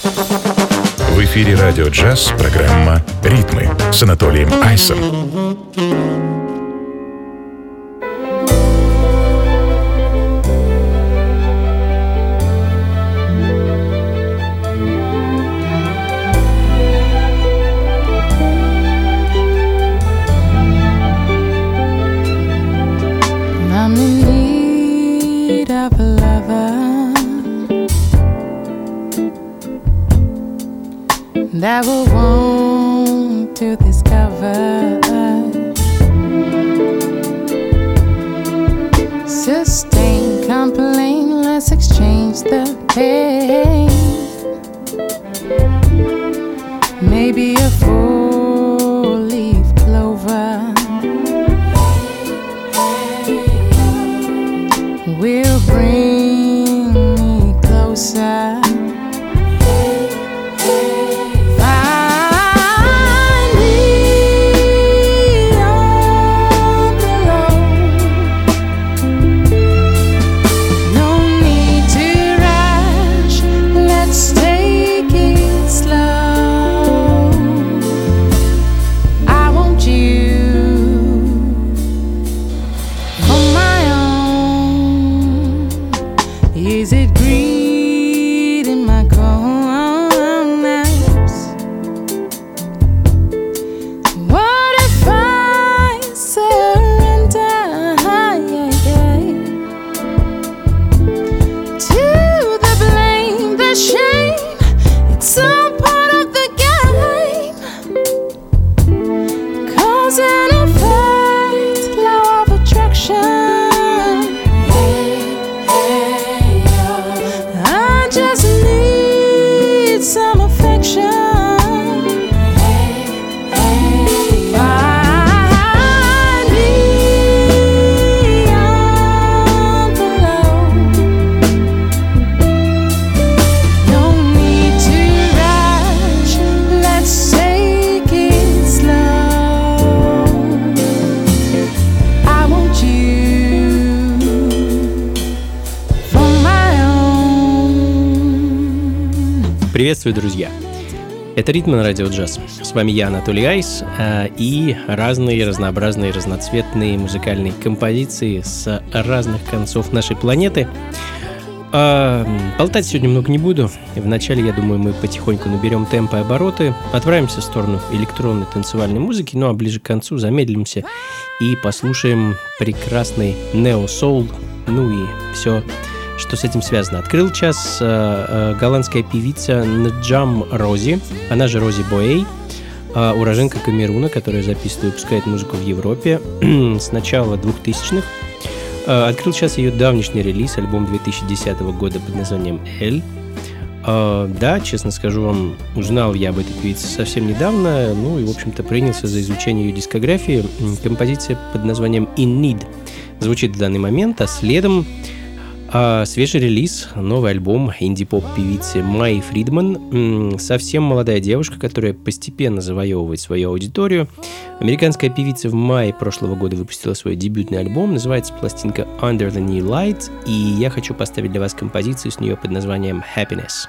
В эфире «Радио Джаз» программа «Ритмы» с Анатолием Айсом. That will want to discover, sustain, complain, let's exchange the pain. Maybe a four-leaf clover will bring me closer. Приветствую, друзья! Это «Ритмы» на Радио Джаз. С вами я, Анатолий Айс, и разные, разнообразные, разноцветные музыкальные композиции с разных концов нашей планеты. Болтать сегодня много не буду. Вначале, я думаю, мы потихоньку наберем темпы и обороты, отправимся в сторону электронной танцевальной музыки, ну а ближе к концу замедлимся и послушаем прекрасный нео-соул, ну и все, что с этим связано. Открыл час голландская певица Нджам Рози, она же Рози Боэй, уроженка Камеруна, которая записывает и выпускает музыку в Европе с начала 2000-х. Открыл сейчас ее давнишний релиз, альбом 2010 года под названием «Эль». Да, честно скажу вам, узнал я об этой певице совсем недавно, ну и, в общем-то, принялся за изучение ее дискографии. Композиция под названием «In Need» звучит в данный момент, а следом свежий релиз, новый альбом инди-поп-певицы Майи Фридман. Совсем молодая девушка, которая постепенно завоевывает свою аудиторию. Американская певица в мае прошлого года выпустила свой дебютный альбом. Называется пластинка Under the New Light. И я хочу поставить для вас композицию с нее под названием Happiness.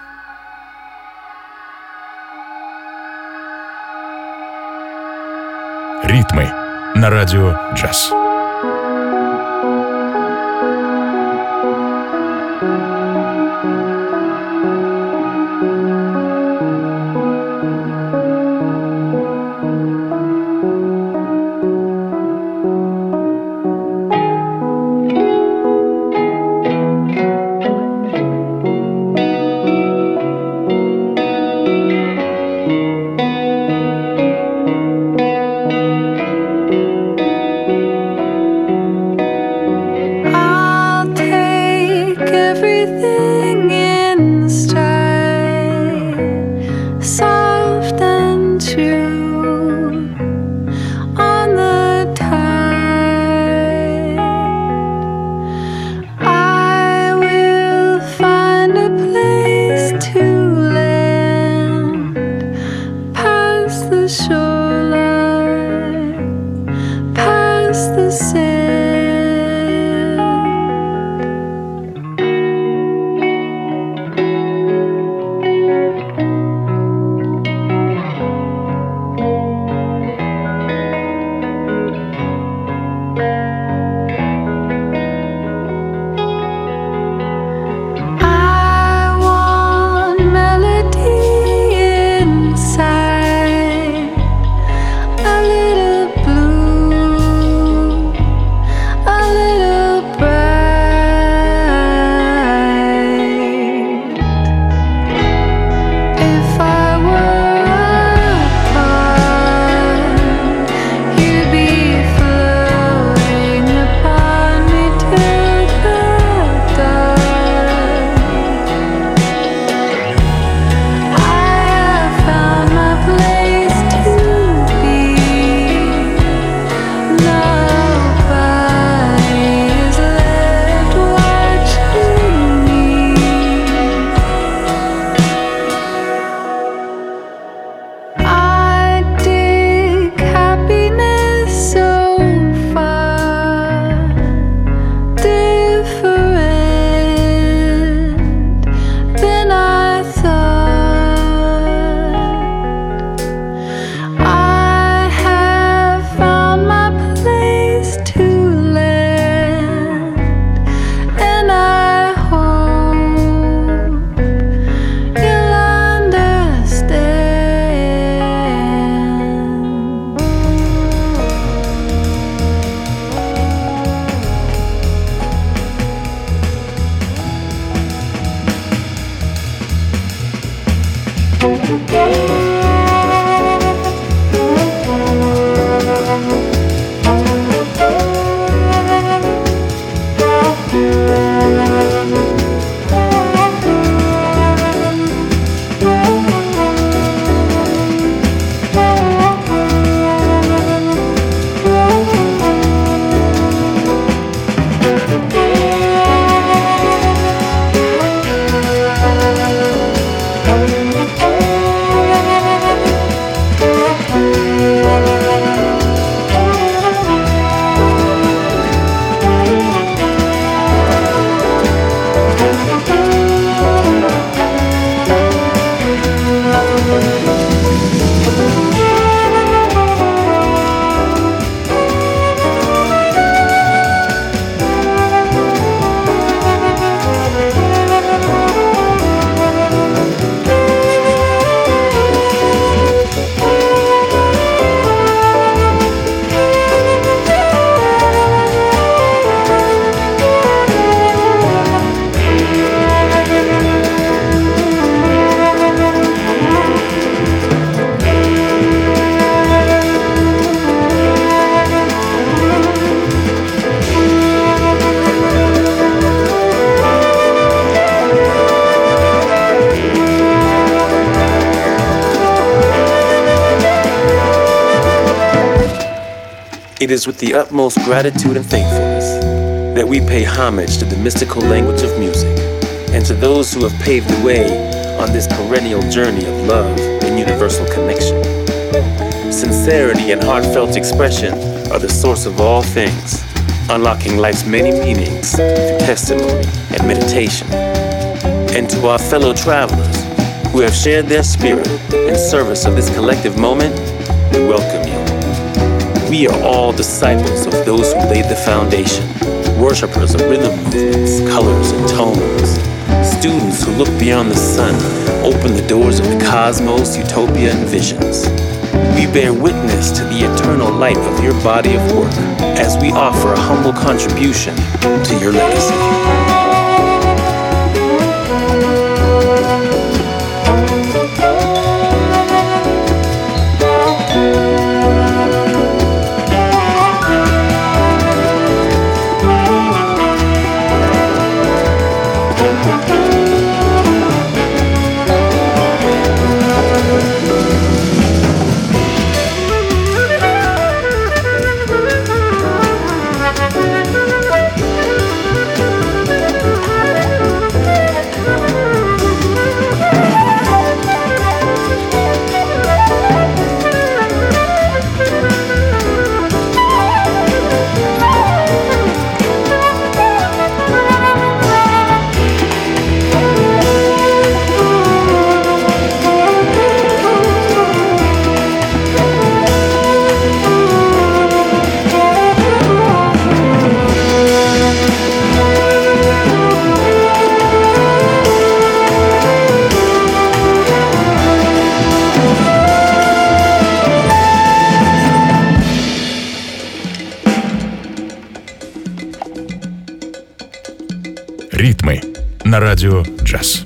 Ритмы на Радио Джаз. It is with the utmost gratitude and thankfulness that we pay homage to the mystical language of music and to those who have paved the way on this perennial journey of love and universal connection. Sincerity and heartfelt expression are the source of all things, unlocking life's many meanings through testimony and meditation. And to our fellow travelers who have shared their spirit in service of this collective moment, we welcome you. We are all disciples of those who laid the foundation, worshipers of rhythm movements, colors, and tones, students who look beyond the sun, open the doors of the cosmos, utopia, and visions. We bear witness to the eternal light of your body of work as we offer a humble contribution to your legacy. Ритмы на радио «Джаз».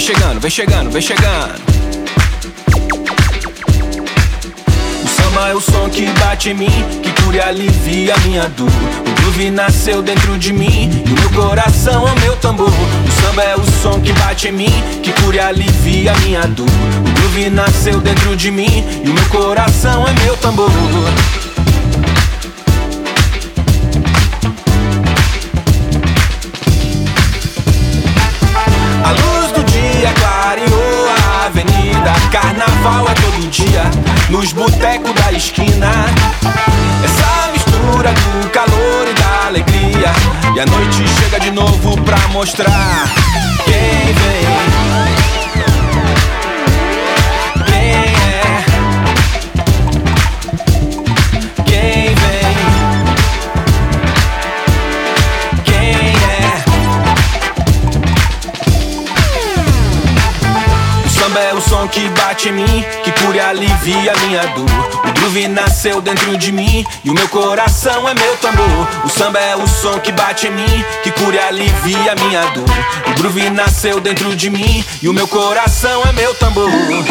chegando, vem chegando, vem chegando. O samba é o som que bate em mim, que cura e alivia a minha dor. O groove nasceu dentro de mim e o meu coração é o meu tambor. O samba é o som que bate em mim, que cura e alivia a minha dor. O groove nasceu dentro de mim e o meu coração é meu tambor. A luz do dia clareou a avenida. Carnaval é todo dia, nos botecos da esquina. Essa mistura do calor e da alegria. E a noite chega de novo pra mostrar quem vem. É o som que bate em mim, que cura e alivia a minha dor. O groove nasceu dentro de mim e o meu coração é meu tambor. O samba é o som que bate em mim, que cura e alivia a minha dor. O groove nasceu dentro de mim e o meu coração é meu tambor.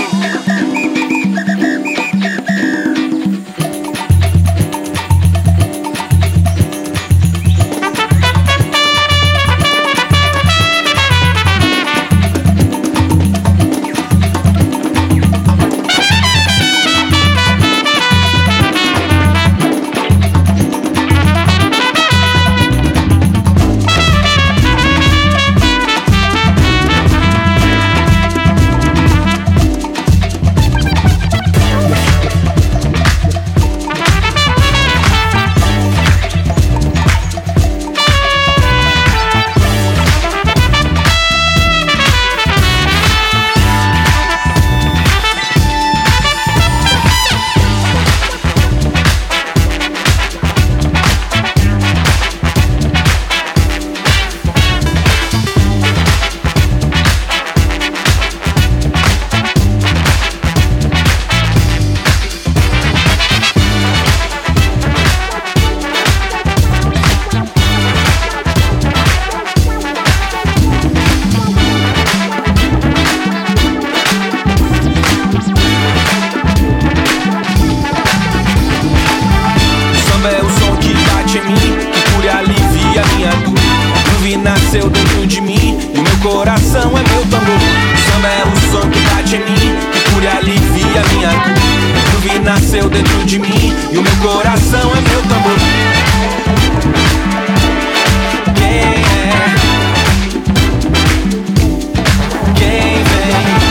Nasceu dentro de mim e o meu coração é meu tambor. O samba é o som que bate em mim, que cura e alivia a minha dor. O groove nasceu dentro de mim e o meu coração é meu tambor. Quem é? Quem vem?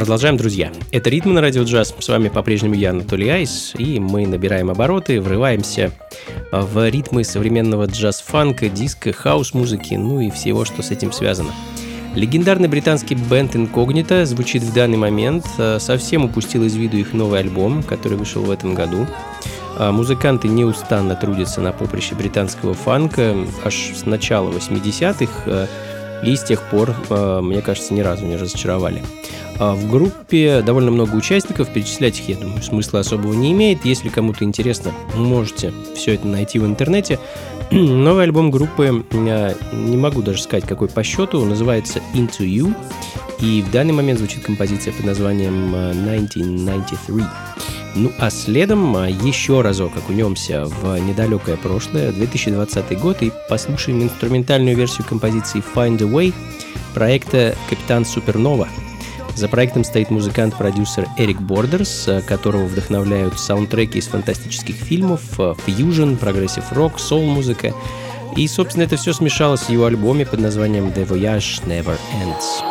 Продолжаем, друзья. Это «Ритмы на радио джаз». С вами по-прежнему я, Анатолий Айс, и мы набираем обороты, врываемся в ритмы современного джаз-фанка, диска, хаус-музыки, ну и всего, что с этим связано. Легендарный британский бэнд Incognito звучит в данный момент, совсем упустил из виду их новый альбом, который вышел в этом году. Музыканты неустанно трудятся на поприще британского фанка аж с начала 80-х, и с тех пор, мне кажется, ни разу не разочаровали. В группе довольно много участников, перечислять их, я думаю, смысла особого не имеет. Если кому-то интересно, можете все это найти в интернете. Новый альбом группы, не могу даже сказать, какой по счету, называется Into You, и в данный момент звучит композиция под названием 1993. Ну а следом еще разок окунемся в недалекое прошлое, 2020 год, и послушаем инструментальную версию композиции Find a Way проекта «Капитан Супернова». За проектом стоит музыкант-продюсер Эрик Бордерс, которого вдохновляют саундтреки из фантастических фильмов, фьюжн, прогрессив-рок, соул-музыка. И, собственно, это все смешалось в его альбоме под названием The Voyage Never Ends.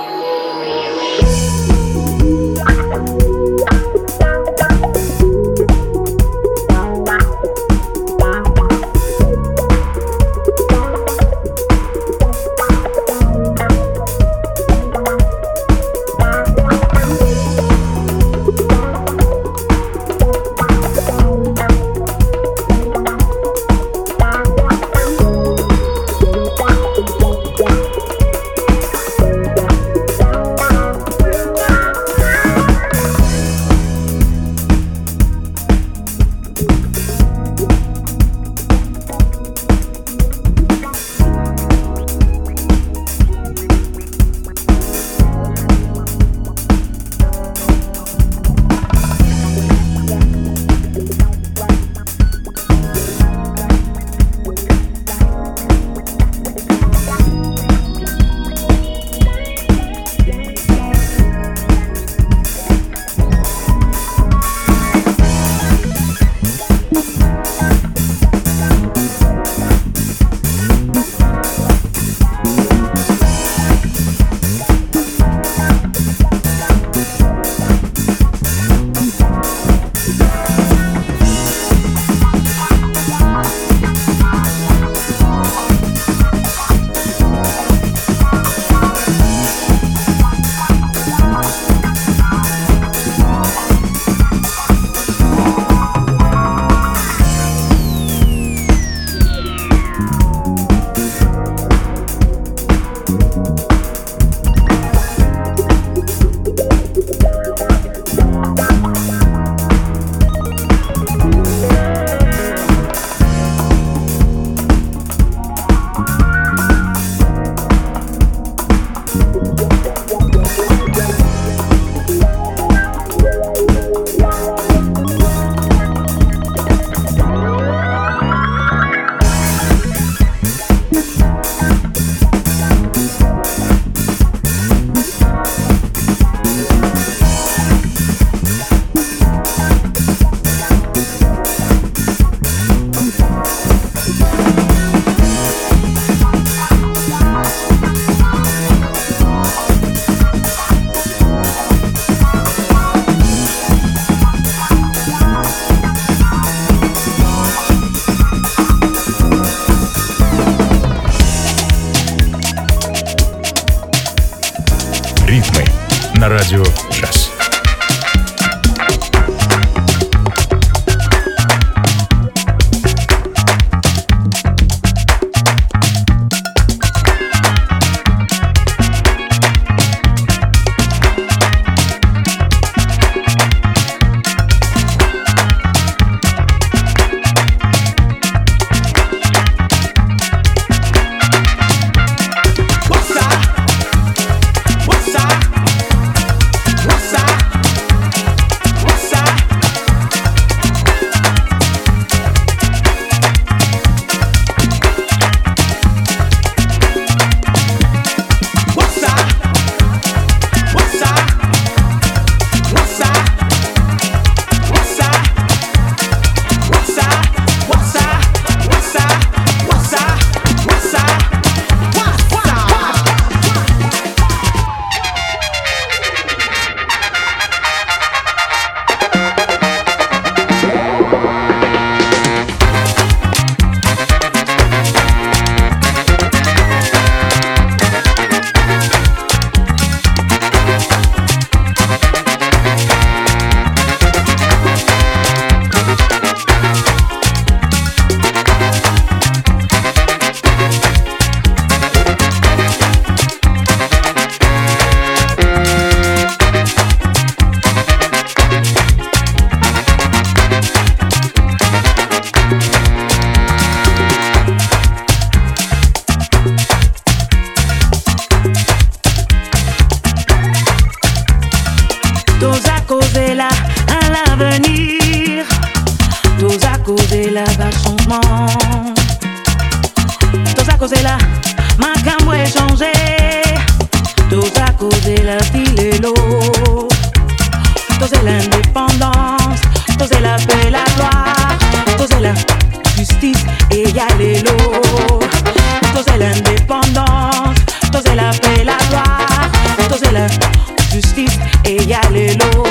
Tosé là à l'avenir, tous à causer là bas changement. Tous à causer là, ma cam est changé. Tous à causer la ville et l'eau. Tous est l'indépendance, tous est la paix, la gloire. Tous est la justice et y a les lots. Tous est l'indépendance, tous est la paix, la gloire. Tous est la justice et y a les lots.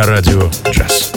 на радио «Джаз».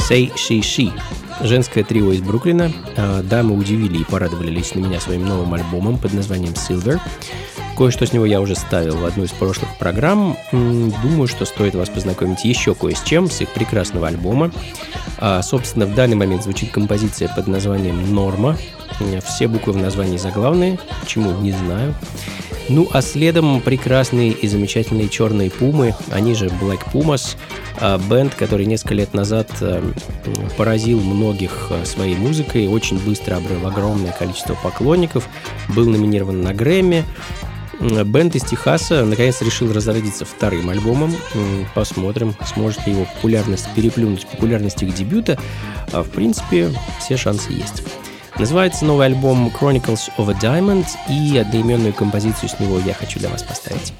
Say She She. Женское трио из Бруклина. Дамы удивили и порадовали лично меня своим новым альбомом под названием Silver. Кое-что с него я уже ставил в одну из прошлых программ. Думаю, что стоит вас познакомить еще кое с чем с их прекрасного альбома. Собственно, в данный момент звучит композиция под названием «Норма». Все буквы в названии заглавные, почему, не знаю. Ну, а следом прекрасные и замечательные черные пумы, они же Black Pumas, бэнд, который несколько лет назад поразил многих своей музыкой, очень быстро обрел огромное количество поклонников, был номинирован на Грэмми. Бэнд из Техаса наконец решил разродиться вторым альбомом. Посмотрим, сможет ли его популярность переплюнуть популярность их дебюта. В принципе, все шансы есть. Называется новый альбом Chronicles of a Diamond, и одноименную композицию с него я хочу для вас поставить.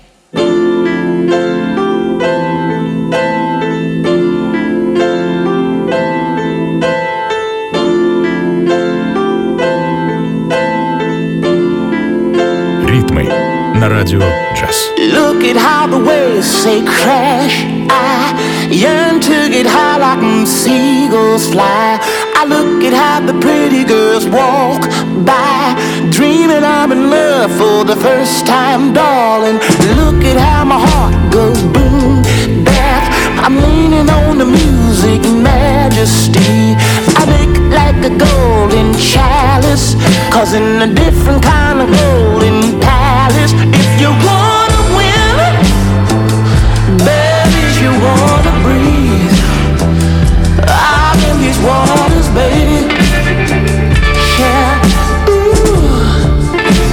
Ритмы на радио Джаз. Look at how the waves say crash. I yearn to get high like seagulls fly. I look at how the pretty girls walk by, dreaming I'm in love for the first time, darling. Look at how my heart goes boom, back. I'm leaning on the music majesty. I look like a golden chalice, cause in a different kind of golden palace. If you wanna win, baby, you wanna breathe. I'm in these waters, baby. Yeah, ooh.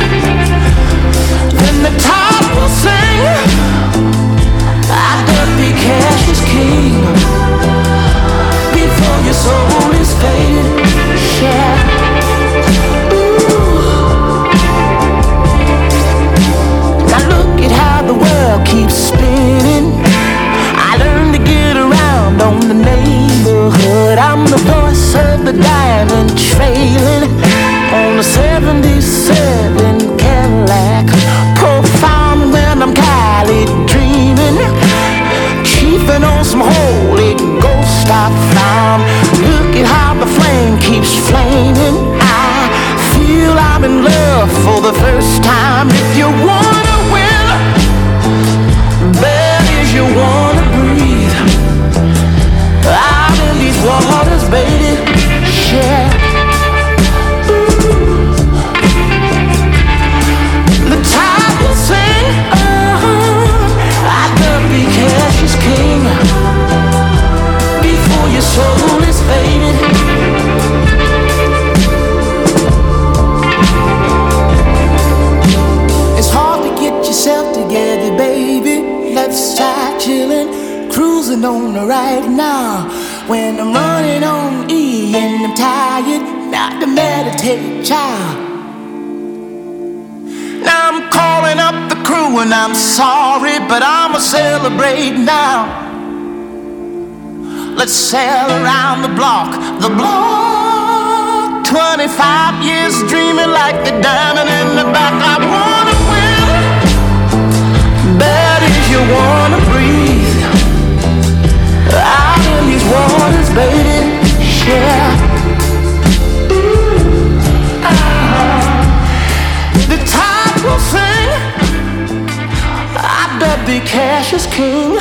Then the tide will sing. I bet the cash is king before your soul is faded. Yeah, ooh. Now look at how the world keeps spinning. I learned to get around on the neighborhood. I'm the voice of the diamond trailing on the 77 Cadillac. Profound when I'm Cali dreaming, chiefing on some Holy Ghost I found. Look at how the flame keeps flaming. I feel I'm in love for the first time. If you wanna win, baby, you wanna breathe. I'm in these waters, baby. Yeah. The tide will sing. I love because she's king before your soul is faded. It's hard to get yourself together, baby. Let's start chillin', cruising on the right now. When I'm running on E and I'm tired, not to meditate, child. Now I'm calling up the crew and I'm sorry, but I'ma celebrate now. Let's sail around the block, the block. 25 years dreaming like a diamond in the back. I wanna win, but if you wanna breathe, out in these waters, baby, yeah. The tide will sing. I bet the cash is king.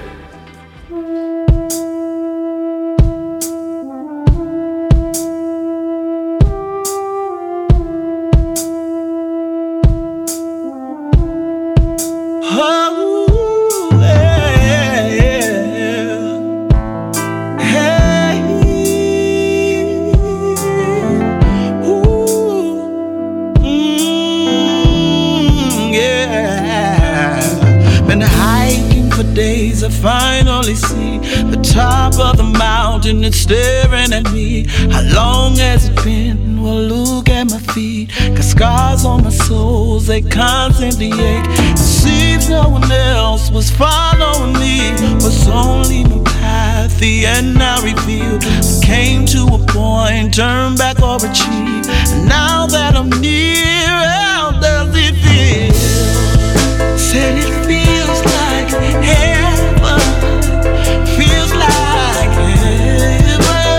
I finally see the top of the mountain. It's staring at me. How long has it been? Well, look at my feet. Got scars on my soles, they constantly ache. It seems no one else was following me, was only my path. The end now revealed. I came to a point, turn back or retreat. And now that I'm near, how does it feel? Said it feels like heaven. Feels like heaven.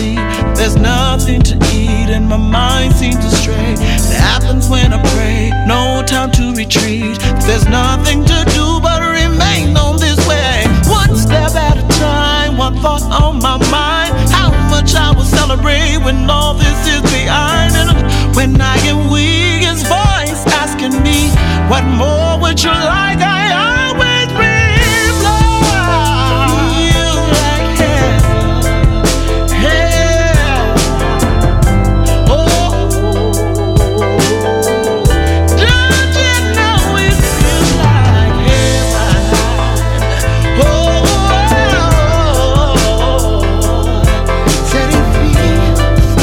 sleep. There's nothing to eat and my mind seems to stray. It happens when I pray, no time to retreat. There's nothing to do but remain on this way. One step at a time, one thought on my mind. How much I will celebrate when all this is behind. And when I am weak, his voice asking me, what more would you like? I always breathe love. Feel like hell, hell. Oh, don't you know it feels like heaven? Oh, said it feels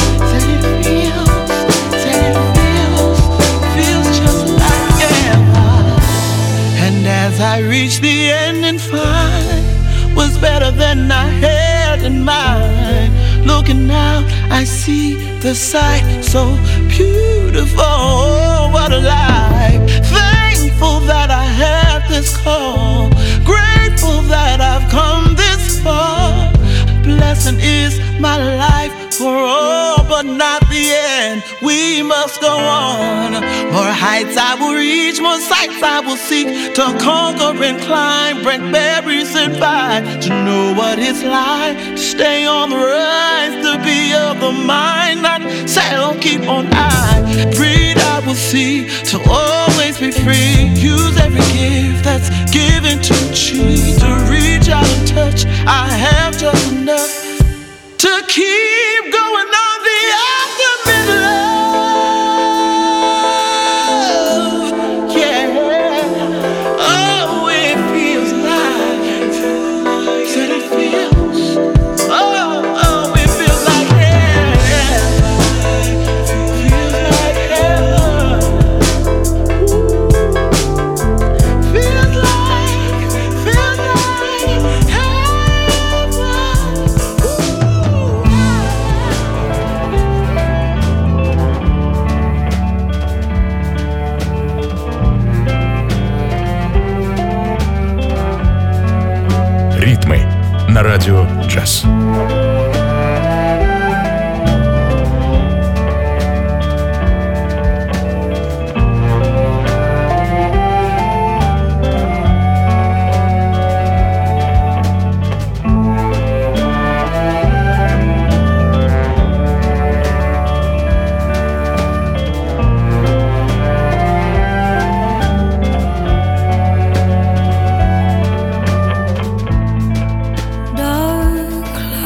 just like heaven. And as I reached the end and find was better than I had in mind. Looking out, I see the sight so beautiful. Oh, what a life. Thankful that I had this call. Grateful that I've come this far. Blessing is my life for all, but not the end. We must go on. More heights I will reach, more sights I will seek, to conquer and climb, break barriers and fight, to know what it's like to stay on the rise, to be of the mind, not sail, keep on high. Breathe I will see, to always be free. Use every gift that's given to achieve, to reach out and touch. I have just enough to keep going on the ultimate love. Yeah. Oh, it feels like. Said it feels. Oh, it feels like heaven. Feels like heaven. Feels like Ритмы на радио «Джаз». Dark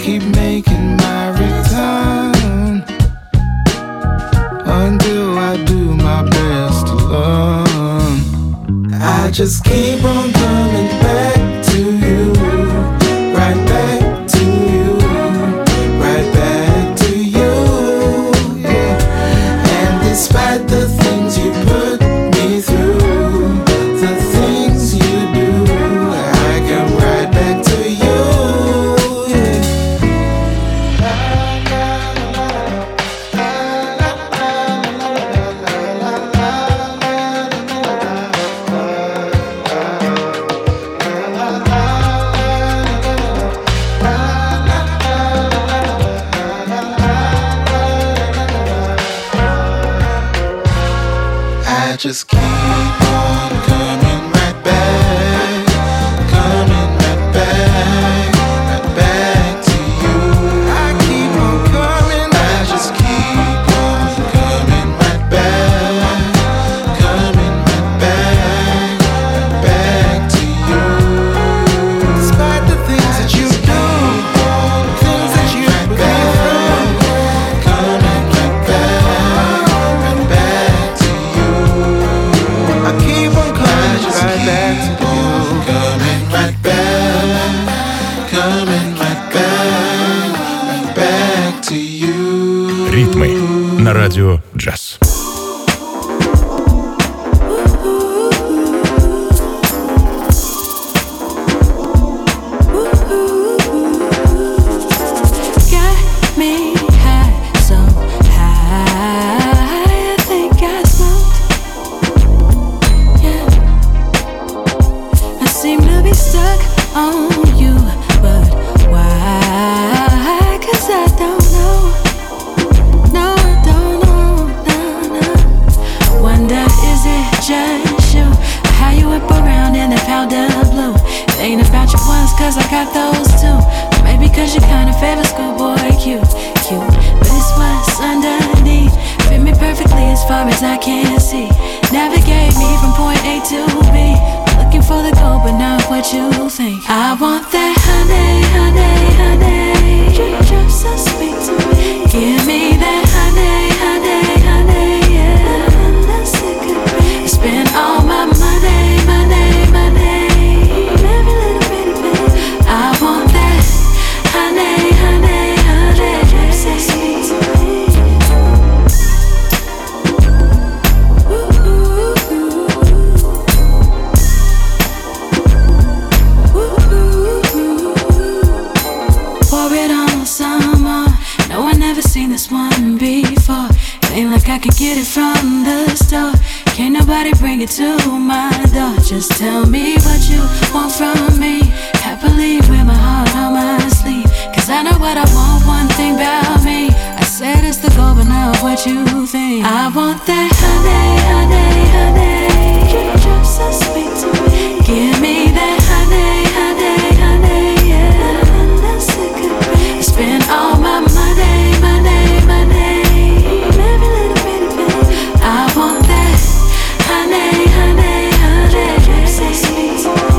keep making my return until I do my best to learn. I just keep on coming back to you, right back to you, right back to you, yeah. And despite the things you put me through, the things you do, I come right back to you, yeah. I just keep on coming right back, coming right back to you. I keep on coming, I just keep on coming right back, coming right back to you. Despite the things that you do, things that you bring through, coming right back to you. I keep on coming right back to you. Coming right back to you. Ритмы на радио «Джаз». Got me high, so high, I think I smoked. Yeah, I seem to be stuck on you, but why? 'Cause I don't know. No, I don't know. No. Wonder, is it just you? How you whip around in that powder blue? It ain't about your ones, 'cause I got those too. Maybe 'cause you kinda favor schoolboy cute. But it's what's underneath. Fit me perfectly as far as I can see. Navigate me from point A to B. Looking for the gold, but not what you think. I want that honey, honey, honey. Drip so sweet to me. Give me that honey, honey, honey, yeah. That's it, could be. Spend all my money, money, money. Every little bit of it. I want that honey, honey, honey. Drip so sweet to me. Pour it on summer. No, I never seen this one before. It ain't like I could get it from the store. Can't nobody bring it to my door. Just tell me what you want from me. Happily wear my heart on my sleeve. 'Cause I know what I want, one thing about me. I said it's the goal, but not what you think. I want that honey, honey, honey. Drip so sweet to me. Give me that honey, honey, honey, yeah. That's it, could be. Spend all my money, money, money. Every little bit of it. I want that honey, honey, honey. Drip so sweet to me.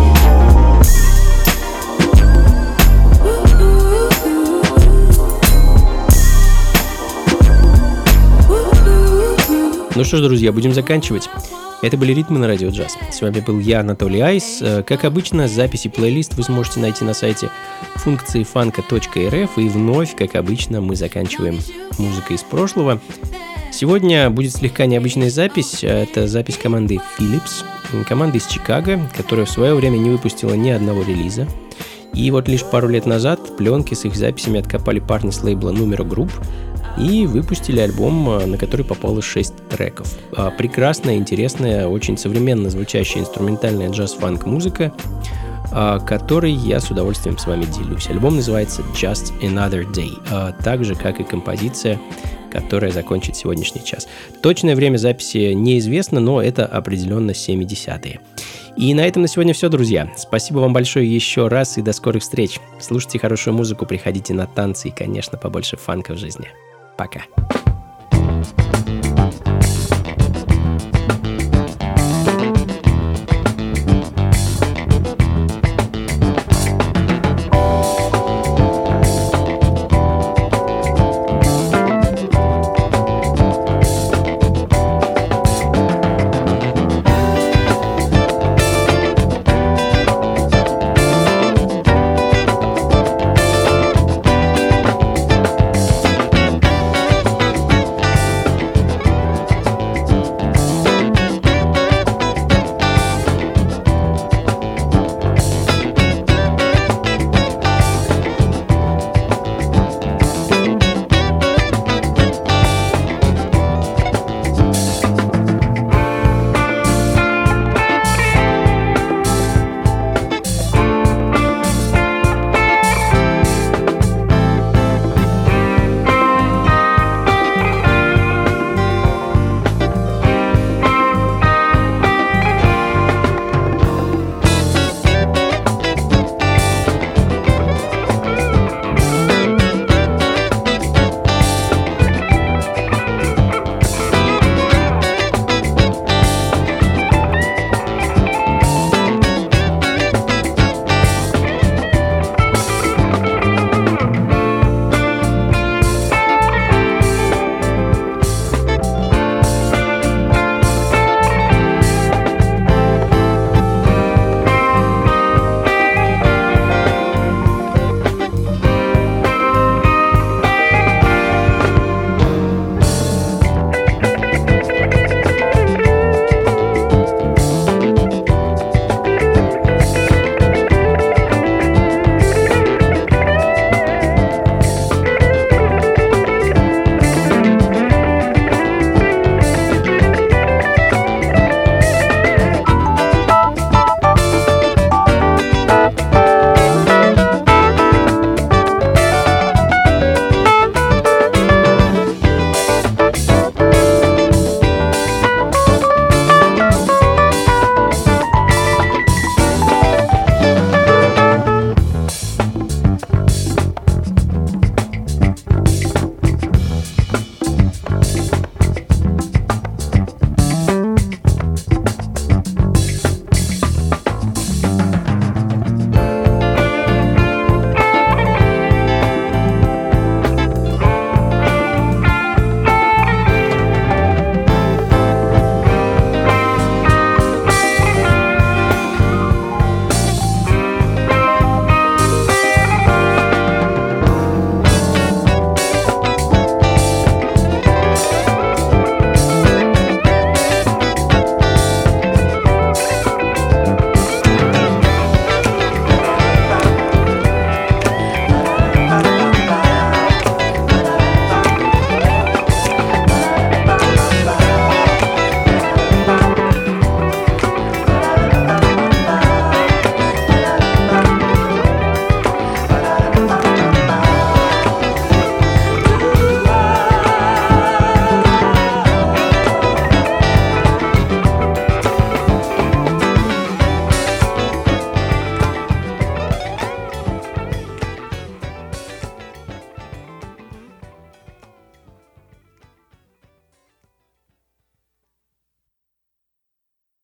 Ну что ж, друзья, будем заканчивать. Это были «Ритмы» на радио «Джаз». С вами был я, Анатолий Айс. Как обычно, записи плейлист вы сможете найти на сайте функции фанка.рф. И вновь, как обычно, мы заканчиваем музыкой из прошлого. Сегодня будет слегка необычная запись. Это запись команды Philips, команды из Чикаго, которая в свое время не выпустила ни одного релиза. И вот лишь пару лет назад пленки с их записями откопали парни с лейбла Numero Group и выпустили альбом, на который попало 6 треков. Прекрасная, интересная, очень современно звучащая инструментальная джаз-фанк-музыка, которой я с удовольствием с вами делюсь. Альбом называется Just Another Day, так же, как и композиция, которая закончит сегодняшний час. Точное время записи неизвестно, но это определенно 70-е. И на этом на сегодня все, друзья. Спасибо вам большое еще раз и до скорых встреч. Слушайте хорошую музыку, приходите на танцы и, конечно, побольше фанка в жизни. Пока.